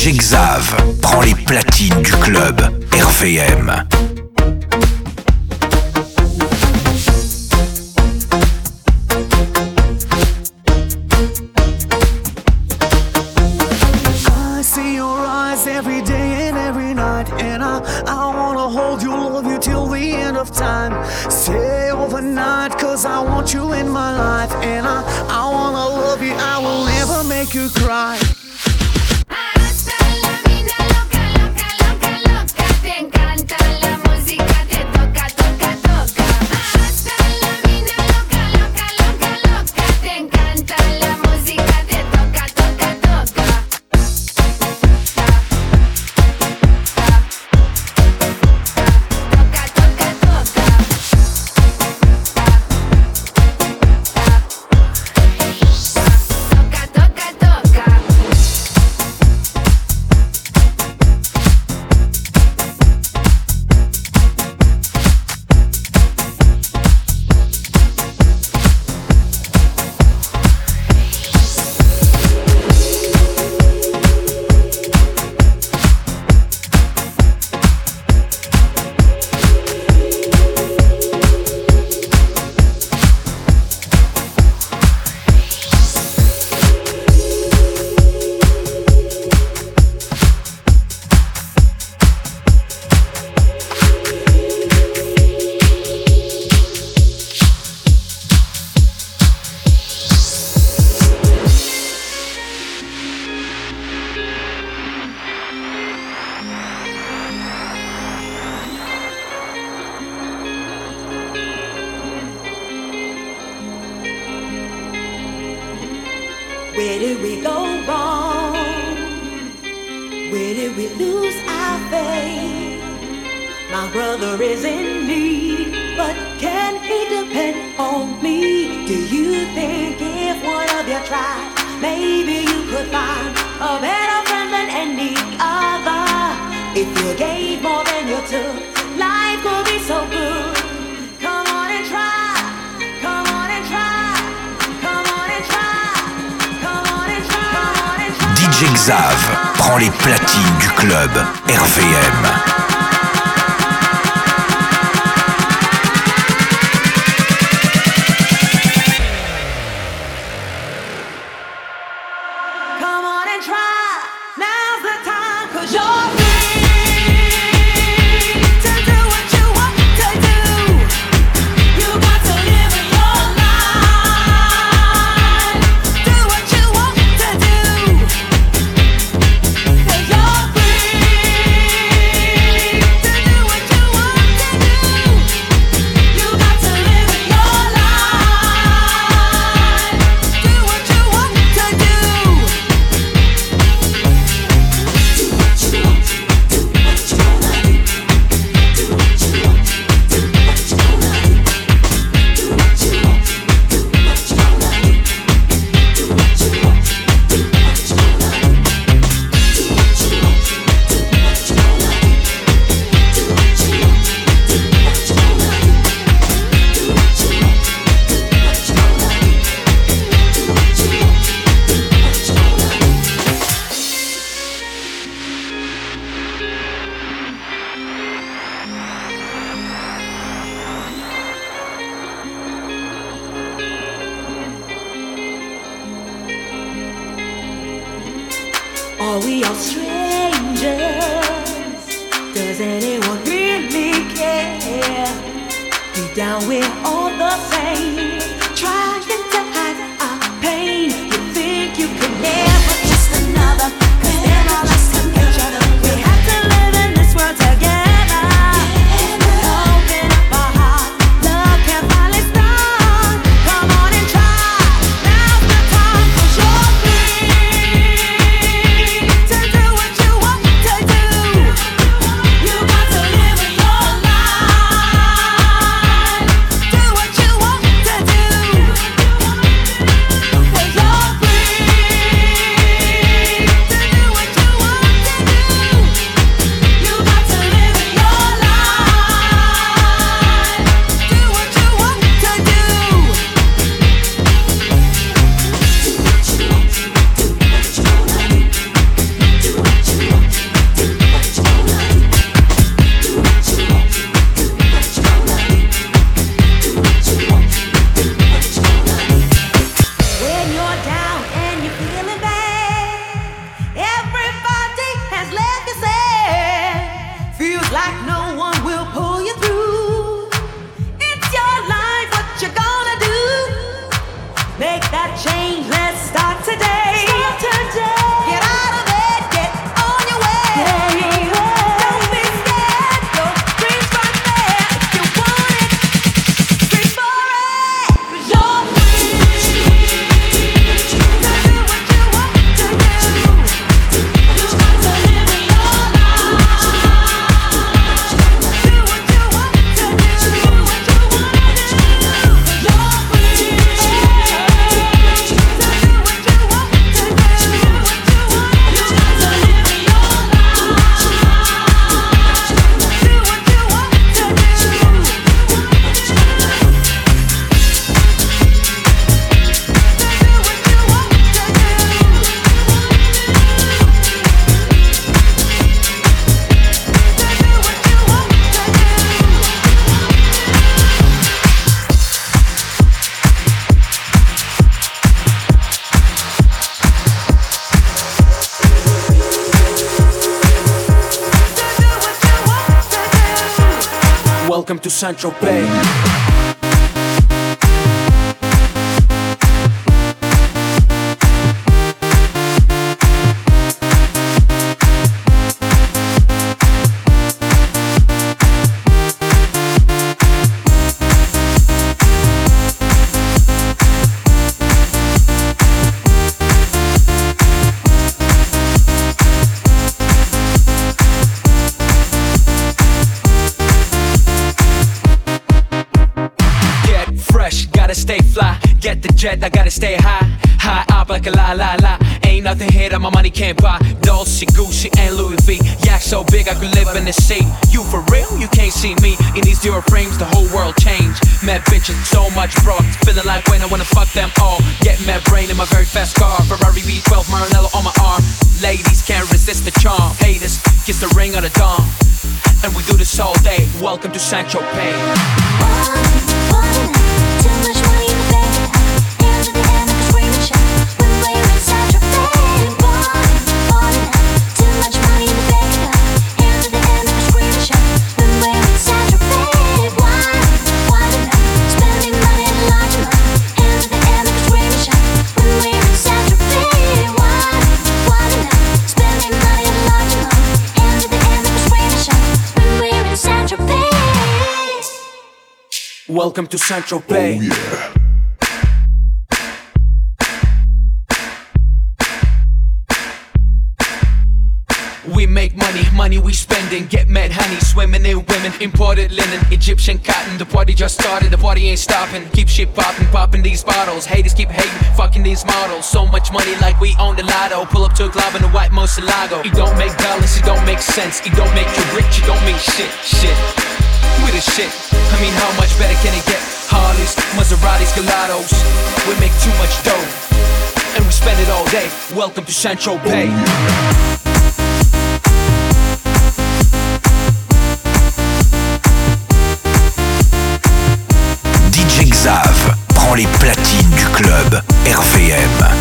DJ Xav prend les platines du club RVM. I see your eyes every day and every night, and I wanna hold you, love you till the end of time. Stay overnight, cause I want you in my life, and I wanna love you, I will never make you cry. Hasta la vida loca, loca, loca, loca. Te encanta la música, te toca, toca, toca. Hasta la vida loca, loca, loca, loca. Te encanta la música, te toca, toca, toca. Toca, toca, toca. Toca, toca, toca. Where did we go wrong? Where did we lose our faith? My brother is in need, but can he depend on me? Do you think if one of you tried, maybe you could find a better friend than any other? If you gave more than you took, life could be so good. Come on and try. Come on and try. Come on and try. Come on and try. Come on and try. DJ Xav prend les platines du club RVM. Come on and try. Now's the time, 'cause you're free to do what you want to do. You got to live in your life. Do what you want to do. 'Cause you're free to do what you want to do. You got to live in your life. Do what you want to do. Are we all strangers? Does anyone really care? Deep down we're all the same, trying to hide our pain. You think you could never just another, 'cause they're all us together. We have to live in this world together. Open up our heart, love can finally start. Come on and try. Now's the time, 'cause you're free to do what you want to do. You got to live in your life. Do what you want to do. Welcome to Saint-Tropez. Stay fly, get the jet, I gotta stay high. High up like a la la la. Ain't nothing here that my money can't buy. Dolce, Gucci, and Louis V. Yak so big I could live in the sea. You for real? You can't see me. In these Dior frames, the whole world changed. Mad bitches, so much broad. Feeling like when I wanna fuck them all. Get mad brain in my very fast car. Ferrari V12, Maranello on my arm. Ladies can't resist the charm. Haters, kiss the ring of the dawn. And we do this all day. Welcome to Saint-Tropez. Welcome to Saint-Tropez. Oh, yeah. We make money, money we spending. Get mad honey, swimming in women. Imported linen, Egyptian cotton. The party just started, the party ain't stopping. Keep shit popping, popping these bottles. Haters keep hating, fucking these models. So much money like we own the lotto. Pull up to a club in a white Murcielago. It don't make dollars, it don't make sense. It don't make you rich, it don't mean shit, shit. We the shit, I mean how much better can it get? Harleys, Maseratis, Gelatos. We make too much dough, and we spend it all day. Welcome to Saint-Tropez. DJ Xav prend les platines du club RVM.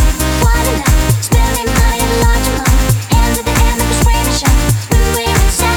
Spending money a lot, and at the end of the screaming shout, when we're in Saint-Tropez.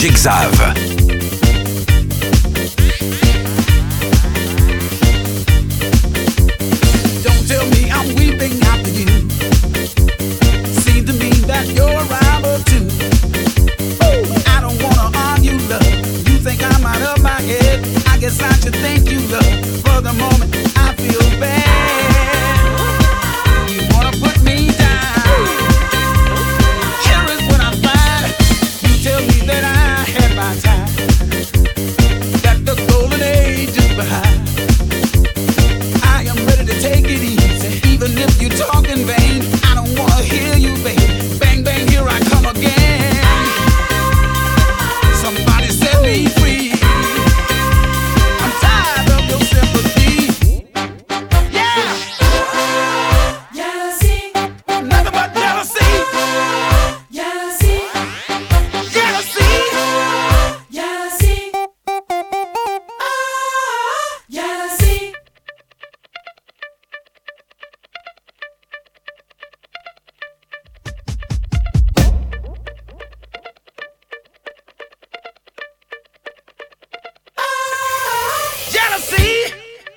DJ Xav. Don't tell me I'm weeping after you. Seems to me that you're a rival too. I don't wanna argue, love. You think I'm out of my head. I guess I should thank you, love. For the moment, I feel bad. You wanna put me down. Here is what I find. You tell me that I had my time, that the golden age is behind. I am ready to take it easy, even if you talk in vain. I don't wanna hear you, baby. Bang, bang, here I come again. Somebody set me free. I'm tired of your sympathy. Yeah. Jealousy, Nothing but jealousy. jealousy, Jealousy. jealousy. Jealousy. Jealousy.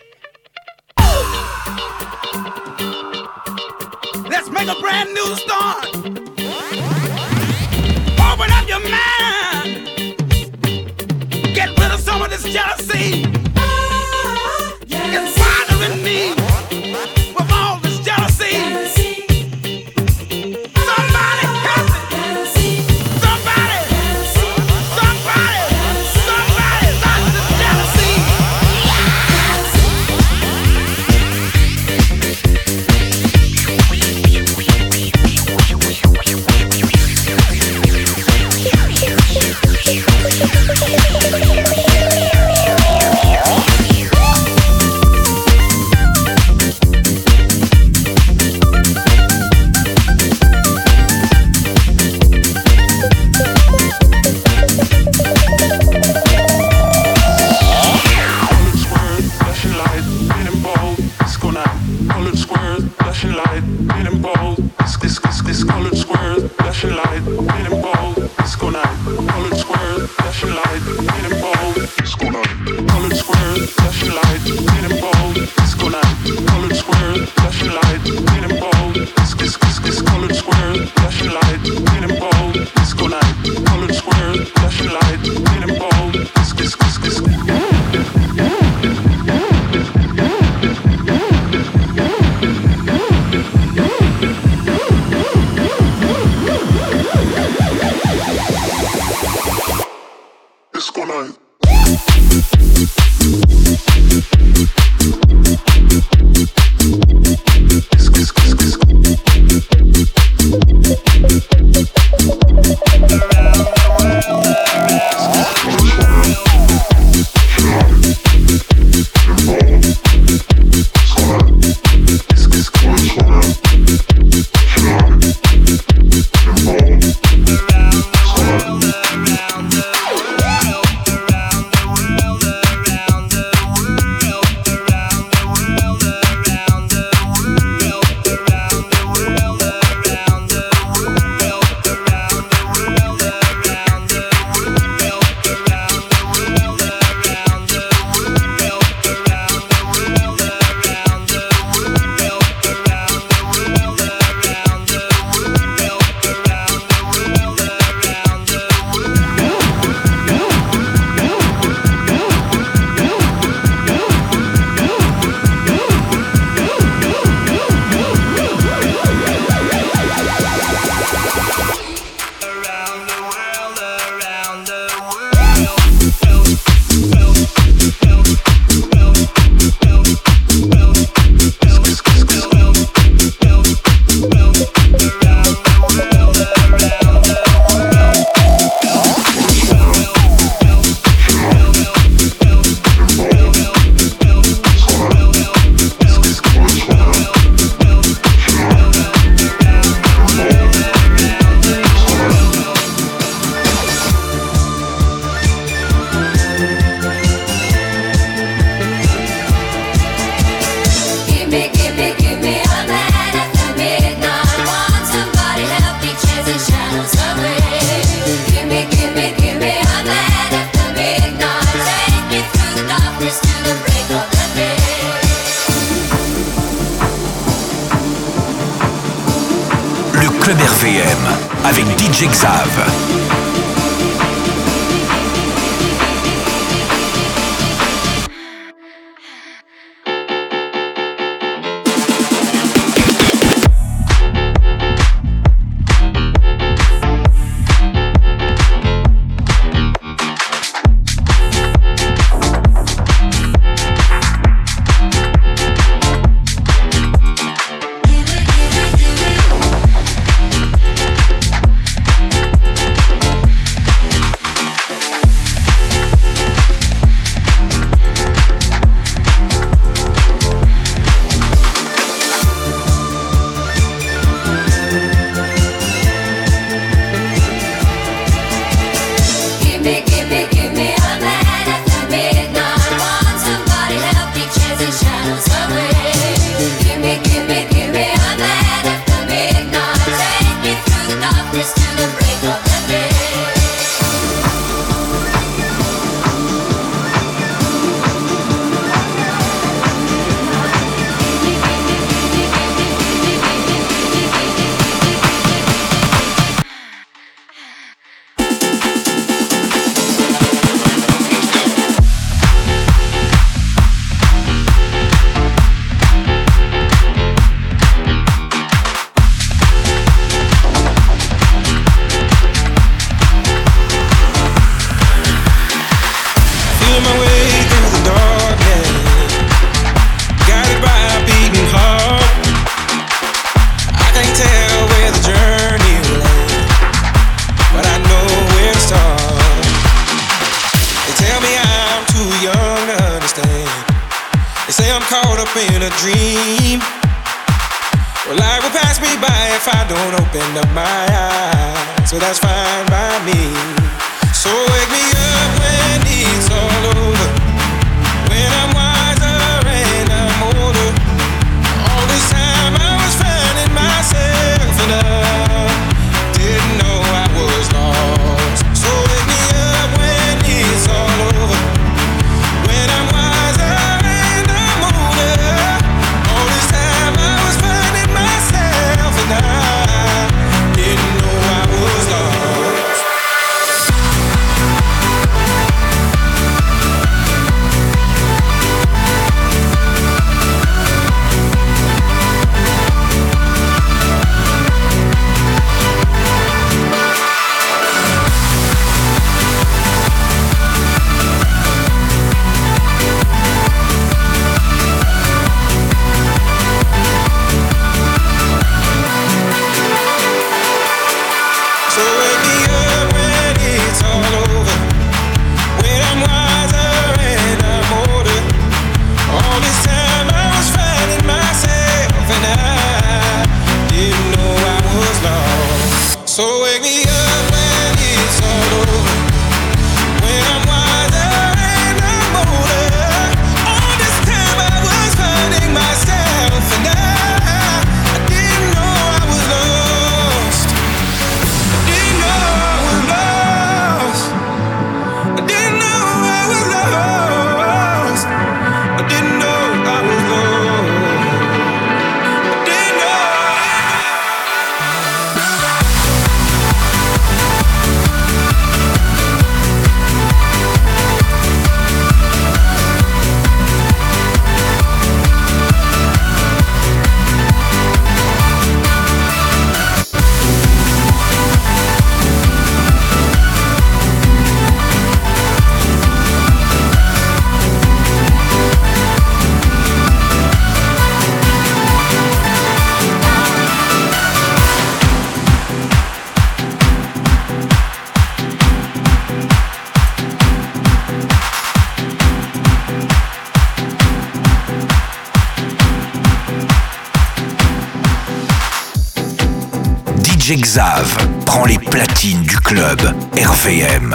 Let's make a brand new start. Open up your mind. Get rid of some of this jealousy. It's bothering me with all this jealousy. Somebody help me. Somebody. Somebody. Somebody stop this jealousy. Disco night. RVM avec DJ Xav. Xav prend les platines du club RVM.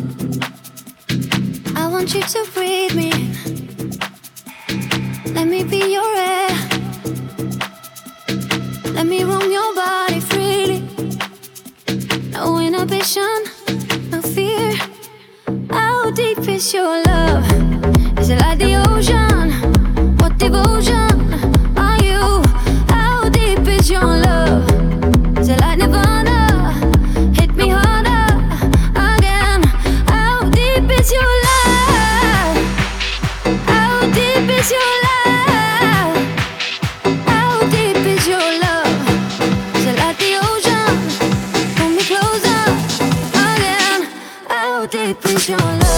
I want you to breathe me. Let me be is your love? Is it like the ocean? What devotion are you? How deep is your love? Is it like Nirvana? Hit me harder again. How deep is your love? How deep is your love? How deep is your love? Is it like the ocean? Pull me closer again. How deep is your love?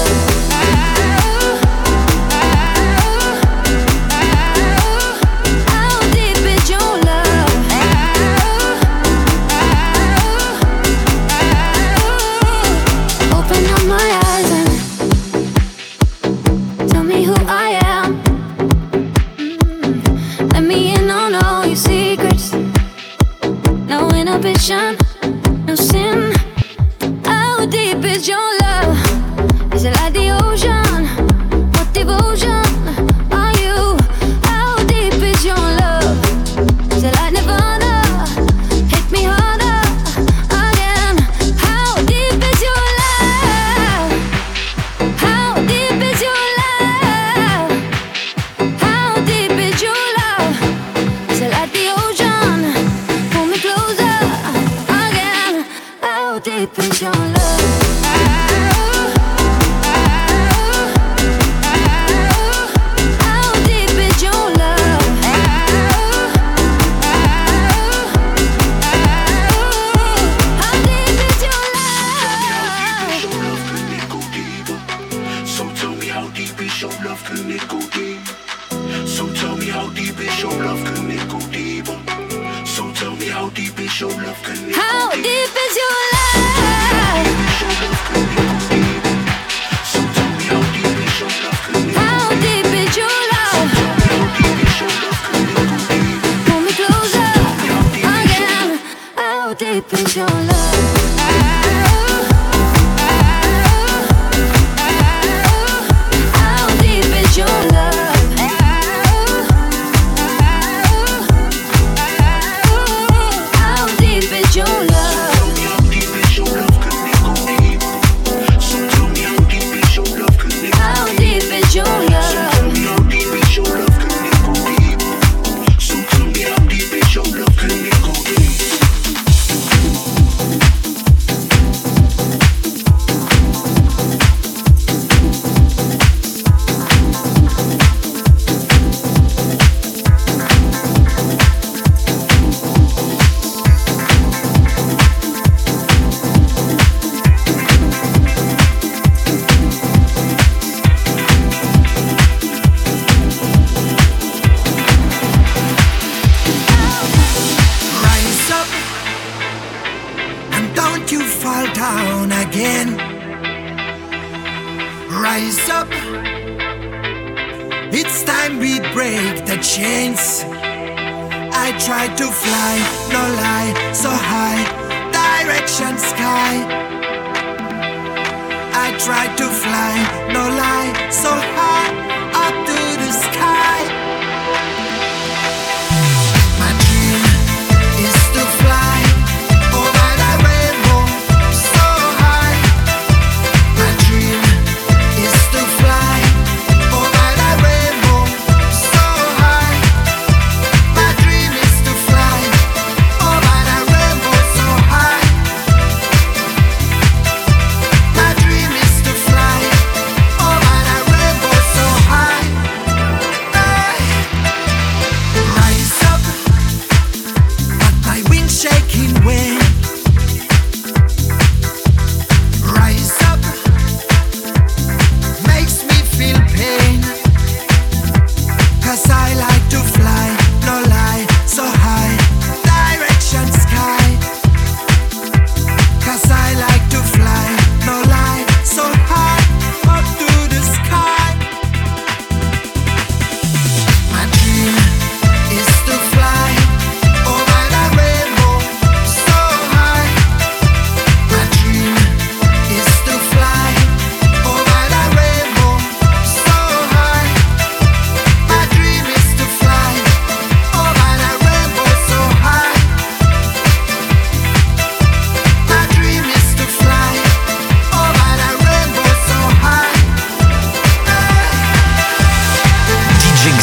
No sin. How deep is your love? Is it like the ocean? What devotion are you? How deep is your love? Is it like Nirvana? Hit me harder again. How deep is your love? How deep is your love? How deep is your love? Is it like the ocean? Pull me closer. How deep is your love? How deep is your love? How deep is your love? So tell me how deep is your love, can it go deep? So tell me how deep is your love, can it go deeper? So tell me how deep is your love, can it go deeper? How deep is your love? How deep is your love? Pull me closer again. How deep is your love? How deep is your love? How deep is your love? Rise up, it's time we break the chains. I tried to fly, no lie, so high, direction sky. I tried to fly, no lie, so high, up to the sky. My dream is to fly over the rainbow, so high. My dream is to fly over the rainbow, so high. My dream is to fly over the rainbow, so high. My dream is to fly over the rainbow, so high.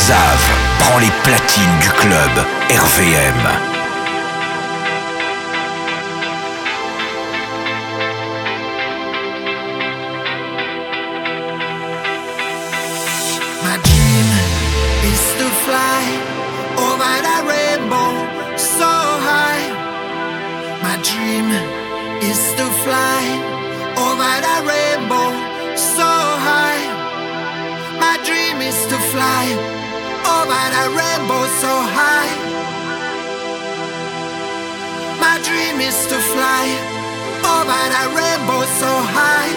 Xav prend les platines du club RVM. My dream is to fly over the rainbow so high. My dream is to fly over the rainbow so high. My dream is to fly over the rainbow so high. My dream is to fly over the rainbow so high.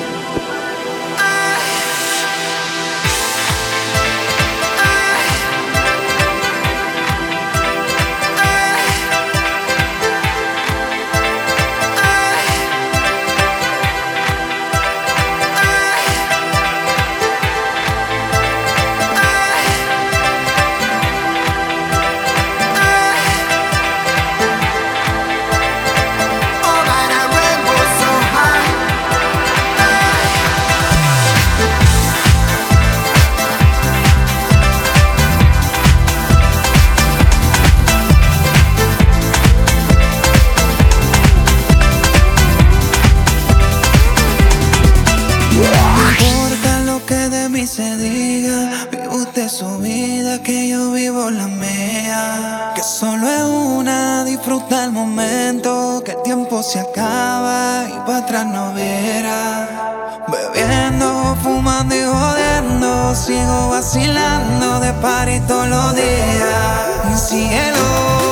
Su vida, que yo vivo la mía, que solo es una, disfruta el momento, que el tiempo se acaba y para atrás no verá. Bebiendo, fumando y jodiendo, sigo vacilando de party todos los días. Cielo,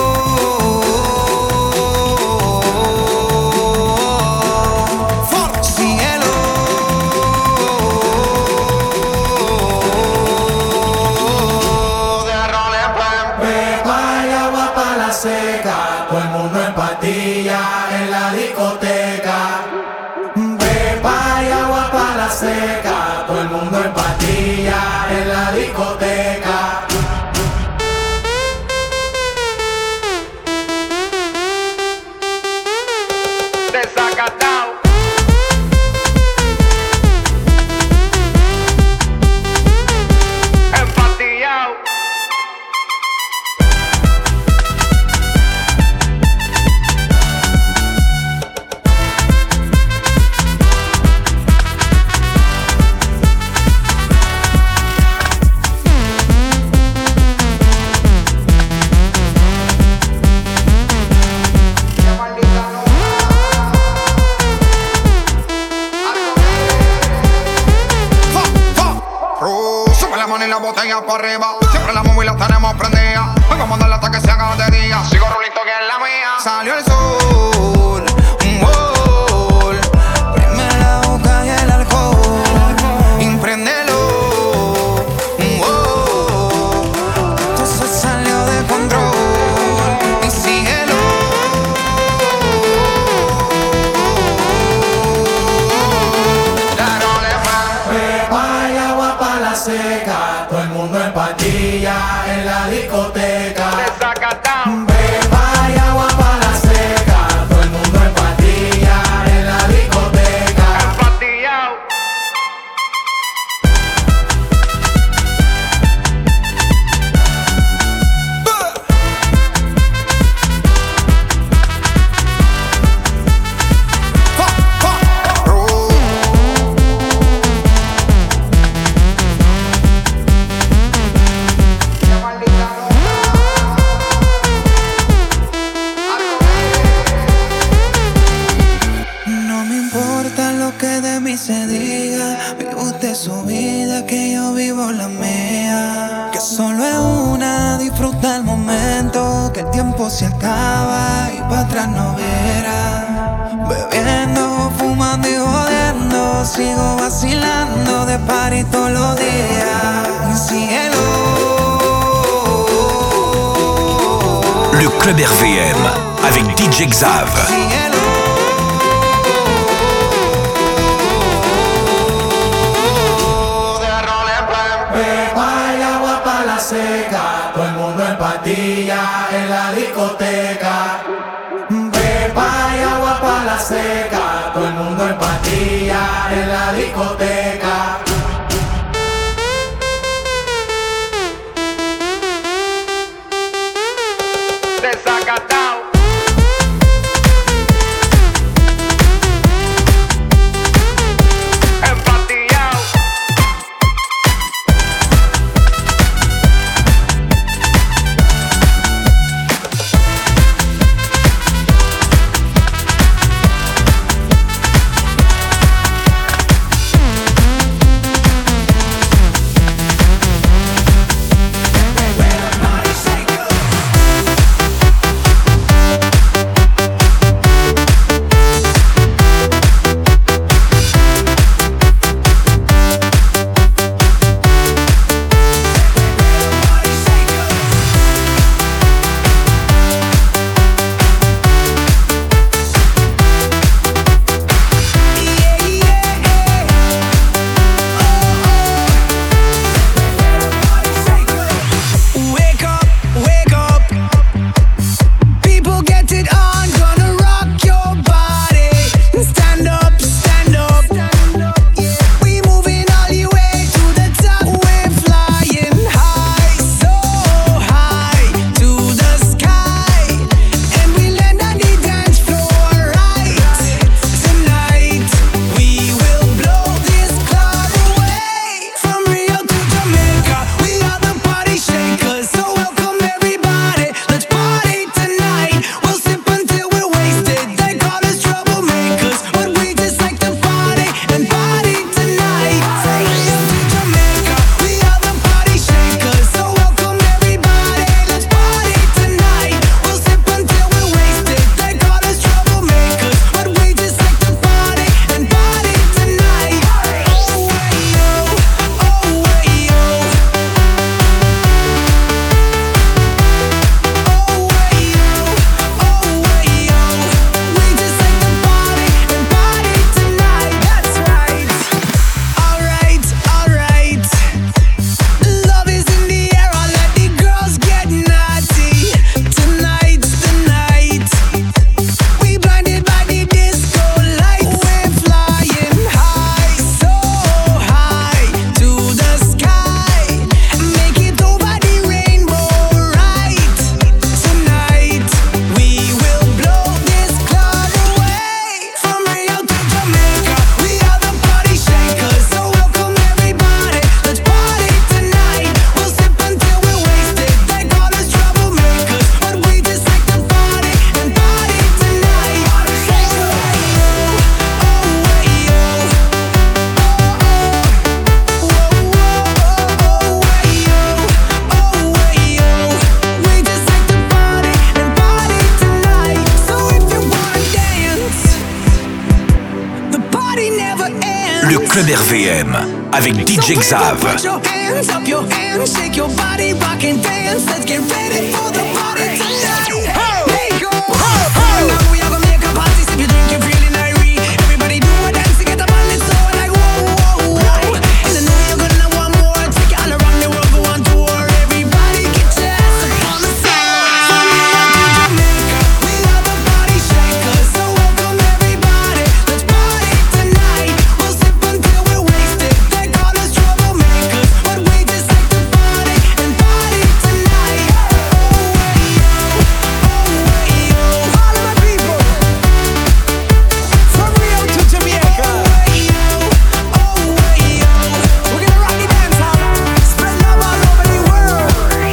todo el mundo en patilla en la discoteca. Pepa y agua para la seca, todo el mundo en patilla en la discoteca. Desacatao. Empatillao. La botella para arriba, siempre la móvil la tenemos prendida. Hoy vamos a darle hasta que se haga de día. Sigo rulito que es la mía. Salió el sol, un gol. Prime la boca y el alcohol. Impréndelo, un gol. Esto se salió de control. Y síguelo. Pepa y agua para la seca, todo el mundo en patilla en la discoteca. Pepa y agua para la seca, todo el mundo en patilla en la discoteca. Se diga, vive usted su vida, que yo vivo la mía, que solo es una, disfruta el momento, que el tiempo se acaba y para atrás no verá. Bebiendo, fumando y jodiendo, sigo vacilando de party todos los días. Cielo. Le club RVM avec DJ Xav. Seca, todo el mundo en patilla en la discoteca. Pepa y agua para la seca, todo el mundo en patilla en la discoteca. Le club RVM avec DJ Xav. Put your hands up, your hands, shake your body, rock and dance. Let's get ready for the party tonight. Hey, go. Now we are gonna make a party, sip your drink, you're feeling irate. Everybody do a dance to get the body so like whoa, whoa, whoa. And the night you're gonna want more. Take it all around the world, go on tour. Everybody get your ass up on the floor. From New York to Jamaica, we are the party shakers. So welcome everybody, let's party tonight. We'll sip until we're wasted. They call us troublemakers, but we just like to party and party tonight. All of my people, from Rio to Jamaica. We're gonna rock the dance hall, spread love all over the world.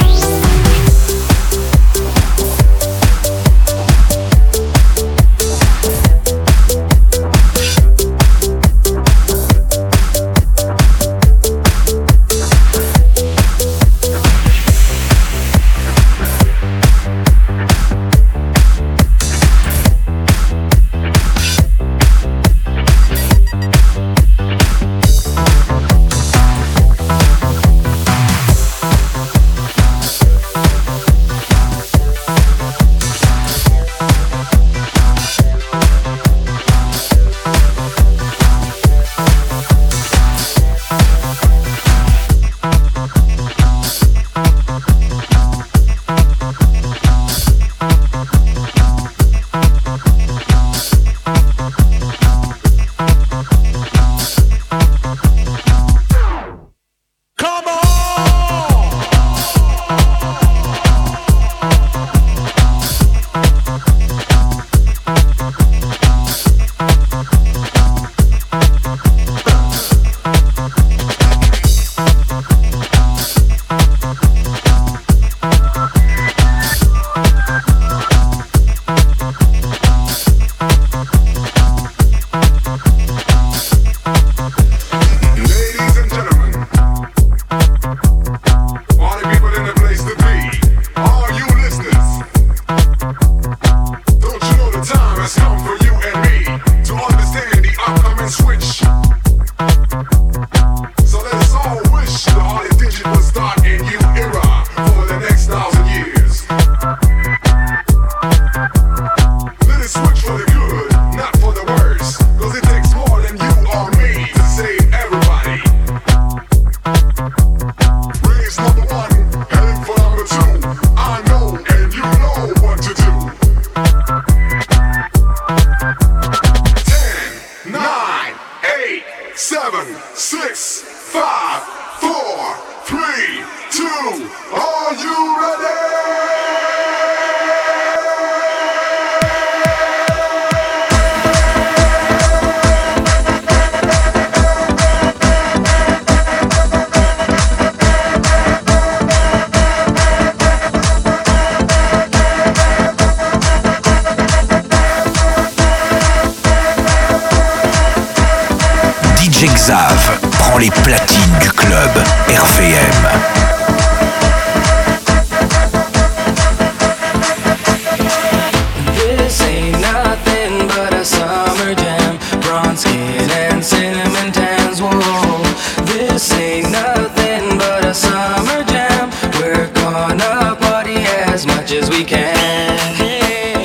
Ladies and gentlemen, all the people in the place to be, all you listeners, don't you know the time has come for you and me to understand the upcoming switch? So let us all wish the Harley Digit will start a new era for the next 1,000 years. Let it switch for the good, not for the worse, 'cause it takes more than you or me to save everybody. Raise number one, heading for number two. I know and you know what to do. 10, 9, 8, 7, 6, 5, 4, 3, 2, are you ready? DJ Xav prend les platines du club RVM. This ain't nothing but a summer jam. Bronze skin and cinnamon tans. Whoa, this ain't nothing but a summer jam. We're gonna party as much as we can. Hey,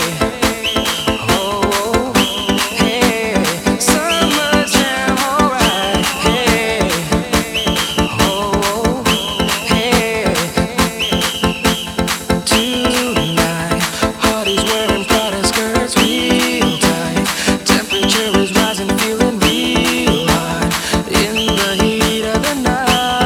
oh, hey, summer jam, alright. Hey, oh, hey. Tonight, Hardy's wearing Prada skirts real tight. Temperature is rising, feeling real hot in the heat of the night.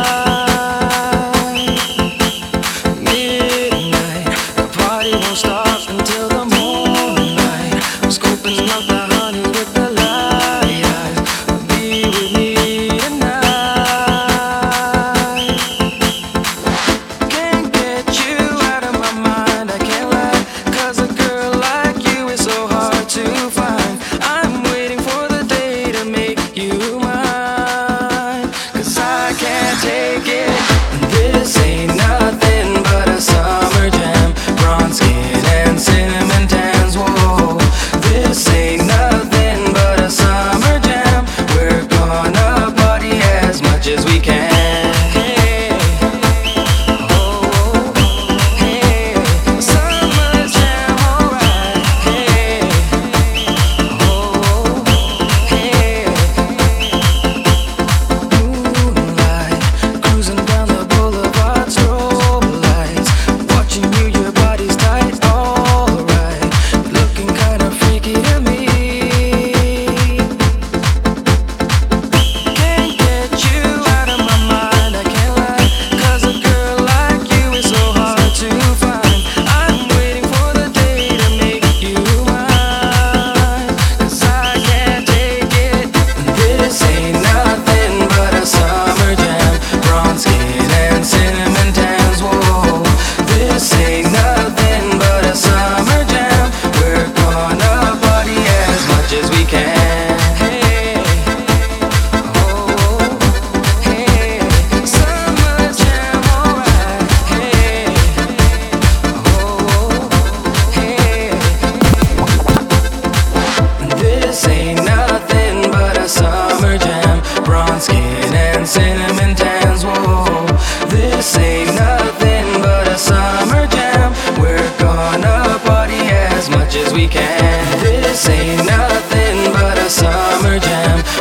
Midnight, the party won't stop until the morning. I'm scoping out the honey with the light eyes. Be with me tonight. Can't get you out of my mind, I can't lie. 'Cause a girl like you is so hard to find. I'm waiting for the day to make you mine. 'Cause I can't take it. This ain't nothing but a summer jam. Bronze skin and cinnamon tans. Whoa, this ain't nothing but a summer jam. We're gonna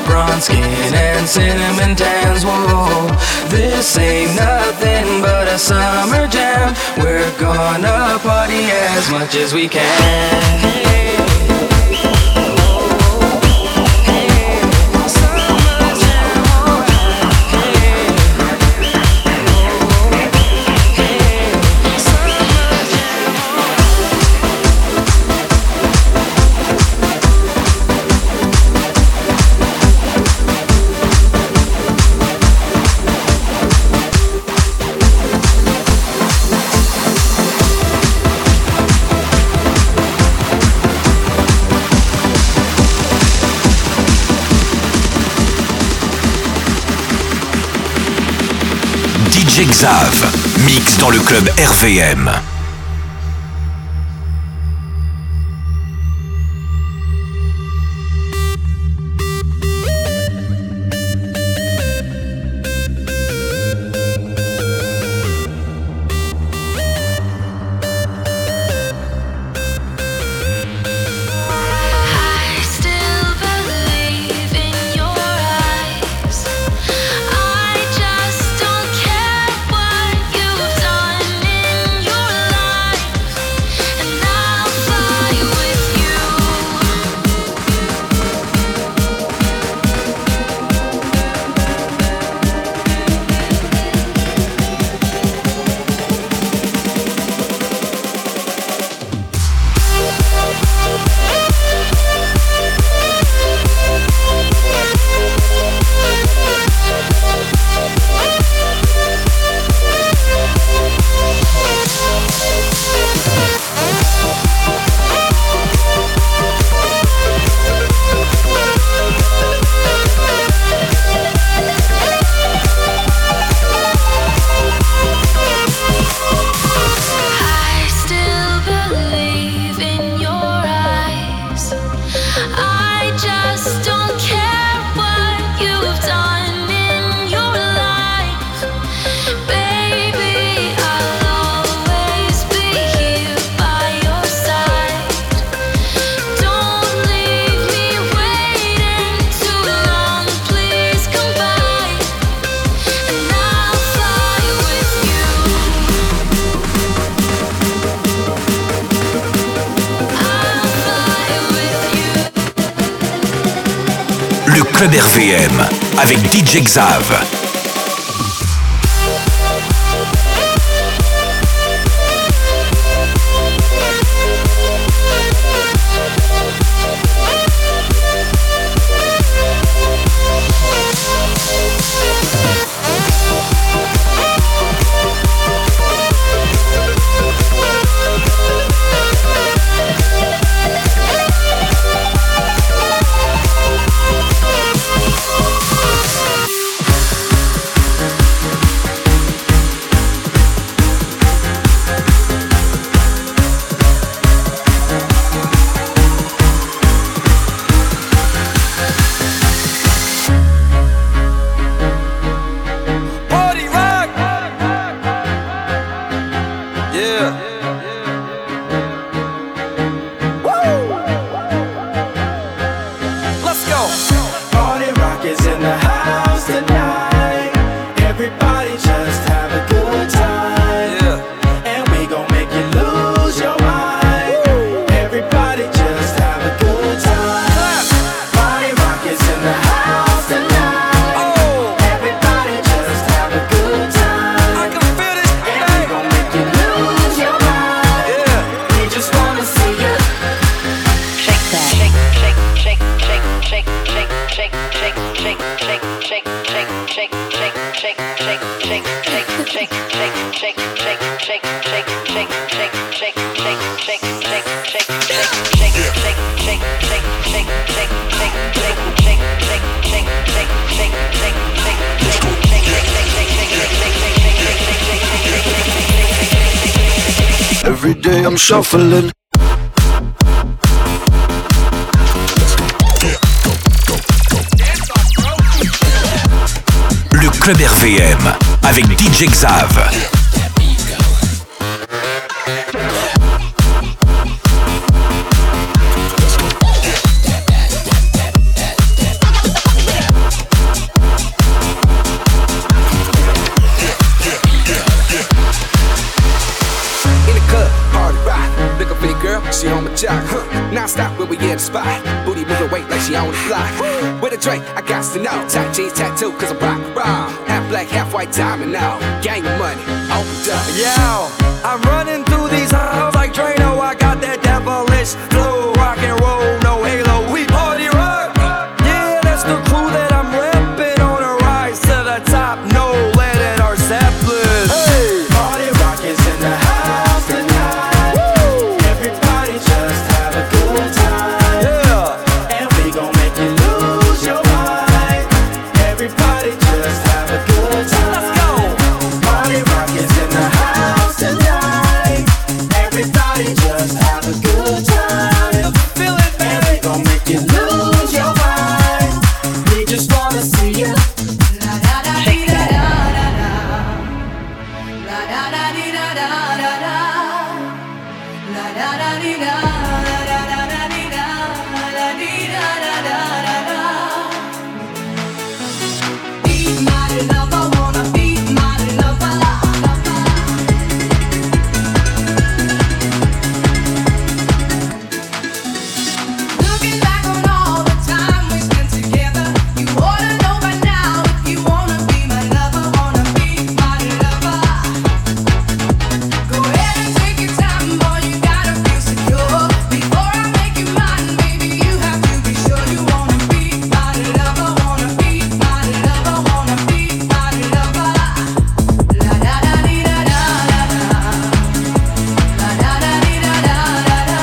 bronze skin and cinnamon tans. Whoa, this ain't nothing but a summer jam. We're gonna party as much as we can. DJ Xav, mix dans le club RVM. Le club RVM avec DJ Xav. Every day I'm shuffling. Le club RVM avec DJ Xav. she on the block. With a drink, I got to know. Tight jeans tattoo, cause I'm rock, raw. Half black, half white diamond now. Gang money, opened up. Yeah, I'm running through these halls like Drano. I got that devilish flow, rock and roll, no halo. We party rock. Yeah, that's the crew that I'm repping on a rise to the top. No lead in our Zeppelin. Hey, Party rock is in the house tonight. Woo! Everybody just have a good time. Yeah, And we gon' make you lose your mind. Everybody just have a good time. let's go. Party rock is in the house tonight. Everybody just have a good time. Feel it, And we gon' make you lose your mind. We just wanna see you. Looking back on all the time we spent together, you ought to know by now if you wanna be my lover, wanna be my lover. Go ahead and take your time, boy, you gotta feel secure. Before I make you mine, baby, you have to be sure you wanna be my lover, wanna be my lover, wanna be my lover. La da da dee da da da da. La da da dee da da da da.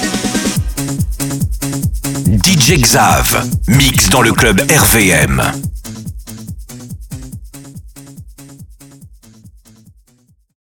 DJ Xav, mix dans le club RVM.